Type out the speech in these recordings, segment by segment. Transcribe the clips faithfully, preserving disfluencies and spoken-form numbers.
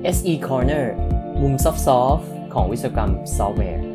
เอส อี Corner มุมซอฟต์ๆของวิศวกรรมซอฟต์แวร์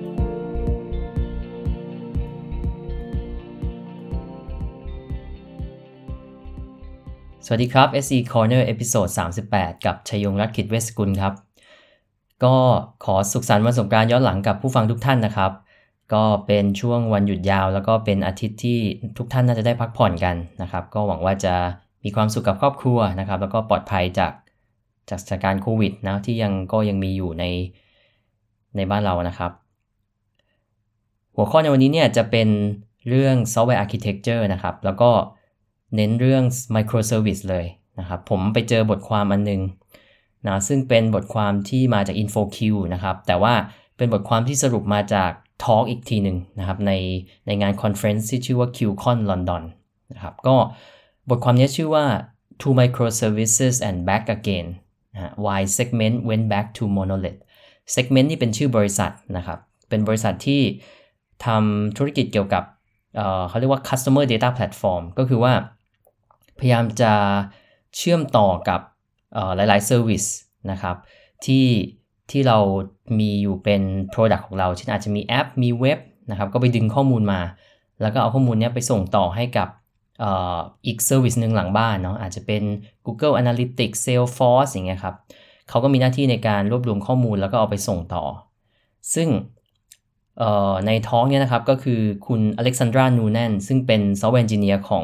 สวัสดีครับ เอส อี Corner เอพิโซดสามสิบแปดกับชัยยงรัตน์ ขิดเวชกุลครับก็ขอสุขสันต์วันสงกรานต์ย้อนหลังกับผู้ฟังทุกท่านนะครับก็เป็นช่วงวันหยุดยาวแล้วก็เป็นอาทิตย์ที่ทุกท่านน่าจะได้พักผ่อนกันนะครับก็หวังว่าจะมีความสุขกับครอบครัวนะครับแล้วก็ปลอดภัยจากจากสถานการณ์โควิดนะที่ยังก็ยังมีอยู่ในในบ้านเรานะครับหัวข้อในวันนี้เนี่ยจะเป็นเรื่อง Software Architecture นะครับแล้วก็เน้นเรื่อง Microservice เลยนะครับผมไปเจอบทความอันนึงนะซึ่งเป็นบทความที่มาจาก InfoQ นะครับแต่ว่าเป็นบทความที่สรุปมาจาก Talk อีกทีนึงนะครับในในงานคอนเฟรนซ์ที่ชื่อว่า QCon London นะครับก็บทความนี้ชื่อว่า To Microservices and Back Again Why Segment Went Back to Monolith Segment นี่เป็นชื่อบริษัทนะครับเป็นบริษัทที่ทำธุรกิจเกี่ยวกับเอ่อเขาเรียกว่า Customer Data Platform ก็คือว่าพยายามจะเชื่อมต่อกับเอ่อหลายๆ Service นะครับที่ที่เรามีอยู่เป็น Product ของเราเช่นอาจจะมีแอปมีเว็บนะครับก็ไปดึงข้อมูลมาแล้วก็เอาข้อมูลนี้ไปส่งต่อให้กับเอ่ออีก Service นึงหลังบ้านเนาะอาจจะเป็น Google Analytics Salesforce อย่างเงี้ยครับเขาก็มีหน้าที่ในการรวบรวมข้อมูลแล้วก็เอาไปส่งต่อซึ่งเอ่อในท้องเนี่ยนะครับก็คือคุณอเล็กซานดรานูแนนซึ่งเป็น Software Engineer ของ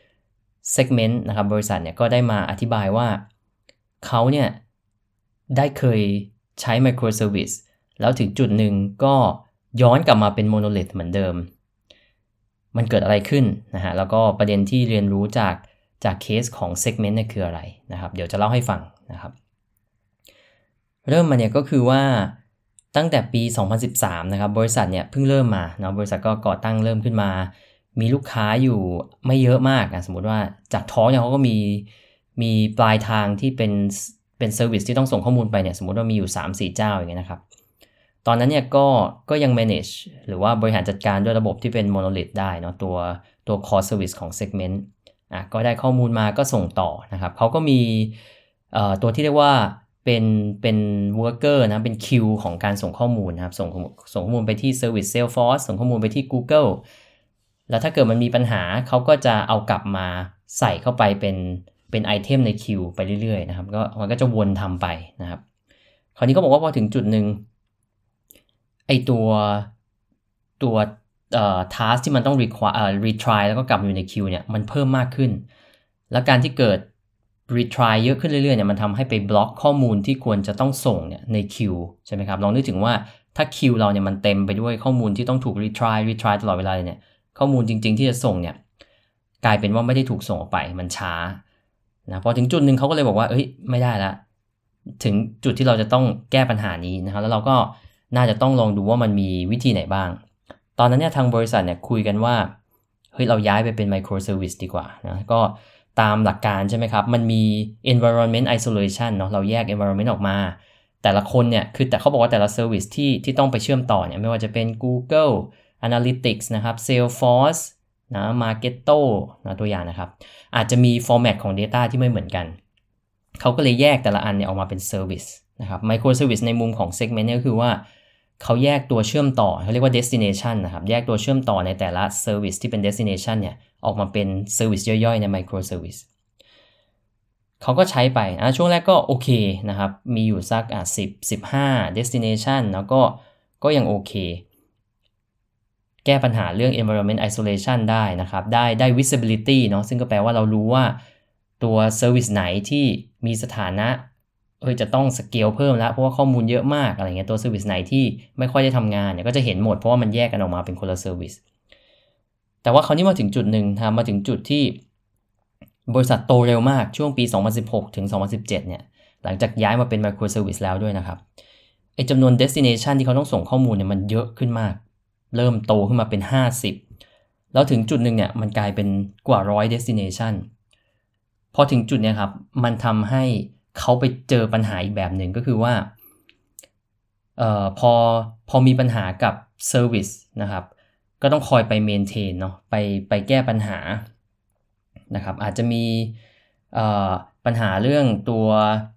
Segment นะครับบริษัทเนี่ยก็ได้มาอธิบายว่าเขาเนี่ยได้เคยใช้ Microservice แล้วถึงจุดหนึ่งก็ย้อนกลับมาเป็น Monolith เหมือนเดิมมันเกิดอะไรขึ้นนะฮะแล้วก็ประเด็นที่เรียนรู้จากจากเคสของ Segment เนี่ยคืออะไรนะครับเดี๋ยวจะเล่าให้ฟังนะครับเริ่มมาเนี่ยก็คือว่าตั้งแต่ปีสองพันสิบสามนะครับบริษัทเนี่ยเพิ่งเริ่มมาเนาะบริษัทก็ก่อตั้งเริ่มขึ้นมามีลูกค้าอยู่ไม่เยอะมากนะสมมุติว่าจากท้องเนี่ยเขาก็มีมีปลายทางที่เป็นเป็นเซอร์วิสที่ต้องส่งข้อมูลไปเนี่ยสมมุติว่ามีอยู่ สามสี่ เจ้าอย่างเงี้ยนะครับตอนนั้นเนี่ยก็ก็ยัง manage หรือว่าบริหารจัดการด้วยระบบที่เป็น monolith ได้เนาะตัวตัว core service ของ segment อ่ะก็ได้ข้อมูลมาก็ส่งต่อนะครับเขาก็มีเอ่อตัวที่เรียกว่าเป็นเป็น worker นะเป็น queue ของการส่งข้อมูลนะครับส่งส่งข้อมูลไปที่ service Salesforce ส่งข้อมูลไปที่ Google แล้วถ้าเกิดมันมีปัญหาเขาก็จะเอากลับมาใส่เข้าไปเป็นเป็นไอเทมใน queue ไปเรื่อยๆนะครับก็มันก็จะวนทำไปนะครับคราวนี้ก็บอกว่าพอถึงจุดนึงไอตัวตัวเอ่อ task ที่มันต้อง require เอ่อ retry แล้วก็กลับมาอยู่ใน queue เนี่ยมันเพิ่มมากขึ้นแล้วการที่เกิด retry เยอะขึ้นเรื่อยๆเนี่ยมันทำให้ไปบล็อกข้อมูลที่ควรจะต้องส่งเนี่ยใน queue ใช่ไหมครับลองนึกถึงว่าถ้า queue เราเนี่ยมันเต็มไปด้วยข้อมูลที่ต้องถูก retry retry ตลอดเวลาเนี่ยข้อมูลจริงๆที่จะส่งเนี่ยกลายเป็นว่าไม่ได้ถูกส่งออกไปมันช้านะพอถึงจุดนึงเขาก็เลยบอกว่าเอ้ยไม่ได้ละถึงจุดที่เราจะต้องแก้ปัญหานี้นะครับแล้วเราก็น่าจะต้องลองดูว่ามันมีวิธีไหนบ้างตอนนั้นเนี่ยทางบริษัทเนี่ยคุยกันว่าเฮ้ยเราย้ายไปเป็น Microservice ดีกว่านะก็ตามหลักการใช่ไหมครับมันมี environment isolation เนาะเราแยก environment ออกมาแต่ละคนเนี่ยคือแต่เขาบอกว่าแต่ละ service ที่ที่ต้องไปเชื่อมต่อเนี่ยไม่ว่าจะเป็น Google Analytics นะครับ Salesforce นะ Marketo นะตัวอย่างนะครับอาจจะมี format ของ data ที่ไม่เหมือนกันเขาก็เลยแยกแต่ละอันเนี่ยออกมาเป็น service นะครับ Microservice ในมุมของ segment เนี่ยก็คือว่าเขาแยกตัวเชื่อมต่อเขาเรียกว่า destination นะครับแยกตัวเชื่อมต่อในแต่ละ service ที่เป็น destination เนี่ยออกมาเป็น service ย่อยๆใน microservice เขาก็ใช้ไปอ่ะช่วงแรกก็โอเคนะครับมีอยู่สักอ่ะสิบ สิบห้า destination แล้วก็ก็ยังโอเคแก้ปัญหาเรื่อง environment isolation ได้นะครับได้ได้ visibility เนาะซึ่งก็แปลว่าเรารู้ว่าตัว service ไหนที่มีสถานะเออจะต้องสเกลเพิ่มแล้วเพราะว่าข้อมูลเยอะมากอะไรเงี้ยตัว service ไหนที่ไม่ค่อยได้ทำงานเนี่ยก็จะเห็นหมดเพราะว่ามันแยกกันออกมาเป็นคนละ service แต่ว่าคราวนี้มาถึงจุดหนึ่งทำมาถึงจุดที่บริษัทโตเร็วมากช่วงปีสองพันสิบหกถึงสองพันสิบเจ็ดเนี่ยหลังจากย้ายมาเป็น microservice แล้วด้วยนะครับไอ้จำนวน destination ที่เขาต้องส่งข้อมูลเนี่ยมันเยอะขึ้นมากเริ่มโตขึ้นมาเป็นห้าสิบแล้วถึงจุดหนึ่งเนี่ยมันกลายเป็นกว่าหนึ่งร้อย destination พอถึงจุดเนี้ยครับมันทำให้เขาไปเจอปัญหาอีกแบบหนึ่งก็คือว่าเอ่อพอพอมีปัญหากับ service นะครับก็ต้องคอยไป maintain เนาะไปไปแก้ปัญหานะครับอาจจะมีเอ่อปัญหาเรื่องตัวตั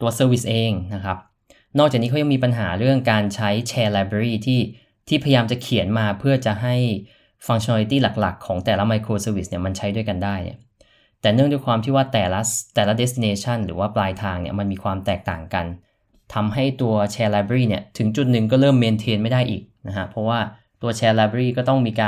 ตัว Service เองนะครับนอกจากนี้เขายังมีปัญหาเรื่องการใช้ Share Library ที่ที่พยายามจะเขียนมาเพื่อจะให้ Functionality หลักๆของแต่ละ Microservice เนี่ยมันใช้ด้วยกันได้เนี่ยแต่เนื่องด้วยความที่ว่าแต่ละแต่ละ destination หรือว่าปลายทางเนี่ยมันมีความแตกต่างกันทำให้ตัว Share Library เนี่ยถึงจุดหนึ่งก็เริ่ม maintain ไม่ได้อีกนะฮะเพราะว่าตัว Share Library ก็ต้องมีการ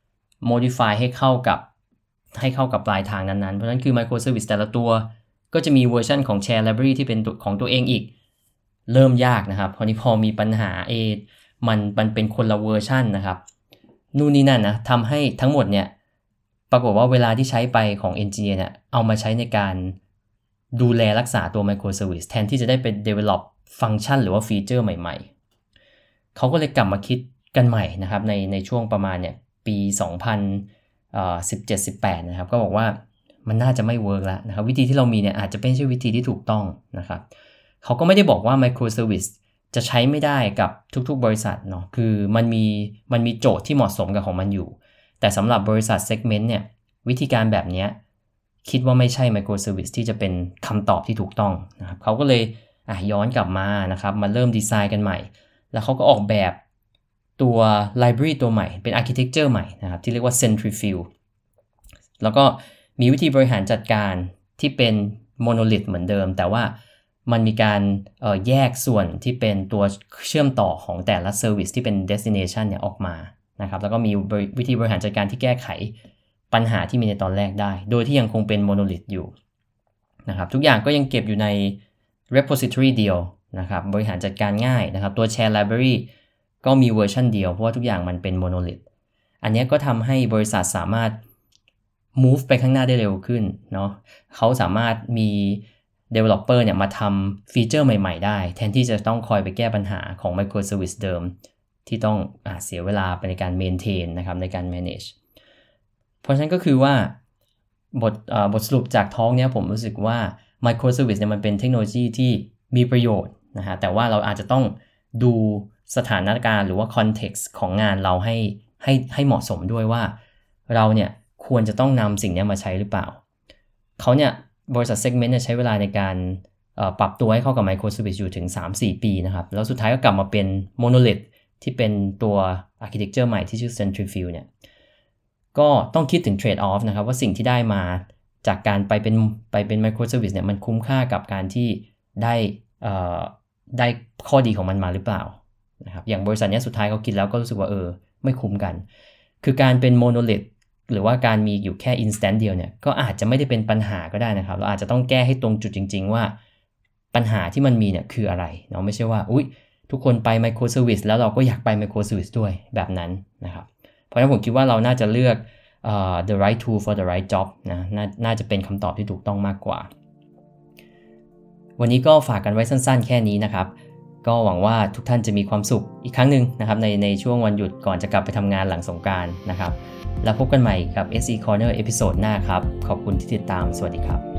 modify ให้เข้ากับให้เข้ากับปลายทางนั้นๆเพราะฉะนั้นคือ Microservice แต่ละตัวก็จะมีเวอร์ชันของ Share Library ที่เป็นของตัวเองอีกเริ่มยากนะครับเพราะนี้พอมีปัญหาเอมันมันเป็นคนละเวอร์ชันนะครับนู่นนี่นั่นนะทำให้ทั้งหมดเนี่ยปรากฏว่าเวลาที่ใช้ไปของ Engineer เนี่ยเอามาใช้ในการดูแลรักษาตัว Microservice แทนที่จะได้เป็น develop ฟังก์ชันหรือว่าฟีเจอร์ใหม่ๆเขาก็เลยกลับมาคิดกันใหม่นะครับในในช่วงประมาณเนี่ยปีสองพันสิบเจ็ด สิบแปดนะครับก็บอกว่ามันน่าจะไม่เวิร์กแล้วนะครับวิธีที่เรามีเนี่ยอาจจะไม่ใช่วิธีที่ถูกต้องนะครับเขาก็ไม่ได้บอกว่า Microservice จะใช้ไม่ได้กับทุกๆบริษัทเนาะคือมันมีมันมีโจทย์ที่เหมาะสมกับของมันอยู่แต่สำหรับบริษัท segment เนี่ยวิธีการแบบนี้คิดว่าไม่ใช่ Microservice ที่จะเป็นคำตอบที่ถูกต้องนะครับเขาก็เลยอ่ะย้อนกลับมานะครับมาเริ่มดีไซน์กันใหม่แล้วเขาก็ออกแบบตัว library ตัวใหม่เป็น architecture ใหม่นะครับที่เรียกว่า Centrifuge แล้วก็มีวิธีบริหารจัดการที่เป็น monolith เหมือนเดิมแต่ว่ามันมีการเอ่อแยกส่วนที่เป็นตัวเชื่อมต่อของแต่ละ service ที่เป็น destination เนี่ยออกมานะครับแล้วก็มีวิธีบริหารจัดการที่แก้ไขปัญหาที่มีในตอนแรกได้โดยที่ยังคงเป็น monolith อยู่นะครับทุกอย่างก็ยังเก็บอยู่ใน repository เดียวนะครับบริหารจัดการง่ายนะครับตัว share library ก็มีเวอร์ชันเดียวเพราะว่าทุกอย่างมันเป็น monolith อันนี้ก็ทำให้บริษัทสามารถ move ไปข้างหน้าได้เร็วขึ้นเนาะเขาสามารถมี developer เนี่ยมาทำฟีเจอร์ใหม่ๆได้แทนที่จะต้องคอยไปแก้ปัญหาของ microservice เดิมที่ต้องอ่าเสียเวลาไปในการ maintain นะครับในการ manage เพราะฉะนั้นก็คือว่าบทอ่าบทสรุปจากท้องเนี้ยผมรู้สึกว่า microservice เนี่ยมันเป็นเทคโนโลยีที่มีประโยชน์นะฮะแต่ว่าเราอาจจะต้องดูสถานการณ์หรือว่า context ของงานเราให้ให้ให้เหมาะสมด้วยว่าเราเนี่ยควรจะต้องนำสิ่งนี้มาใช้หรือเปล่าเขาเนี่ยบริษัท segment เนี่ยใช้เวลาในการปรับตัวให้เข้ากับ microservice อยู่ถึง สามถึงสี่ ปีนะครับแล้วสุดท้ายก็กลับมาเป็น monolith ที่เป็นตัว architecture ใหม่ที่ชื่อ Centrifuge เนี่ยก็ต้องคิดถึง trade off นะครับว่าสิ่งที่ได้มาจากการไปเป็นไปเป็น microservice เนี่ยมันคุ้มค่ากับการที่ได้ได้ข้อดีของมันมาหรือเปล่านะครับอย่างบริษัทนี้สุดท้ายเขาคิดแล้วก็รู้สึกว่าเออไม่คุ้มกันคือการเป็น monolith หรือว่าการมีอยู่แค่ instant เดียวเนี่ยก็อาจจะไม่ได้เป็นปัญหาก็ได้นะครับเราอาจจะต้องแก้ให้ตรงจุดจริงๆว่าปัญหาที่มันมีเนี่ยคืออะไรเนาะไม่ใช่ว่าอุ๊ยทุกคนไป microservice แล้วเราก็อยากไป microservice ด้วยแบบนั้นนะครับเพราะฉะนั้นผมคิดว่าเราน่าจะเลือก uh, the right tool for the right job นะนาน่าจะเป็นคำตอบที่ถูกต้องมากกว่าวันนี้ก็ฝากกันไว้สั้นๆแค่นี้นะครับก็หวังว่าทุกท่านจะมีความสุขอีกครั้งหนึ่งนะครับในในช่วงวันหยุดก่อนจะกลับไปทำงานหลังสงกรานต์นะครับแล้วพบกันใหม่กับ เอส อี Corner เอพิโซดหน้าครับขอบคุณที่ติดตามสวัสดีครับ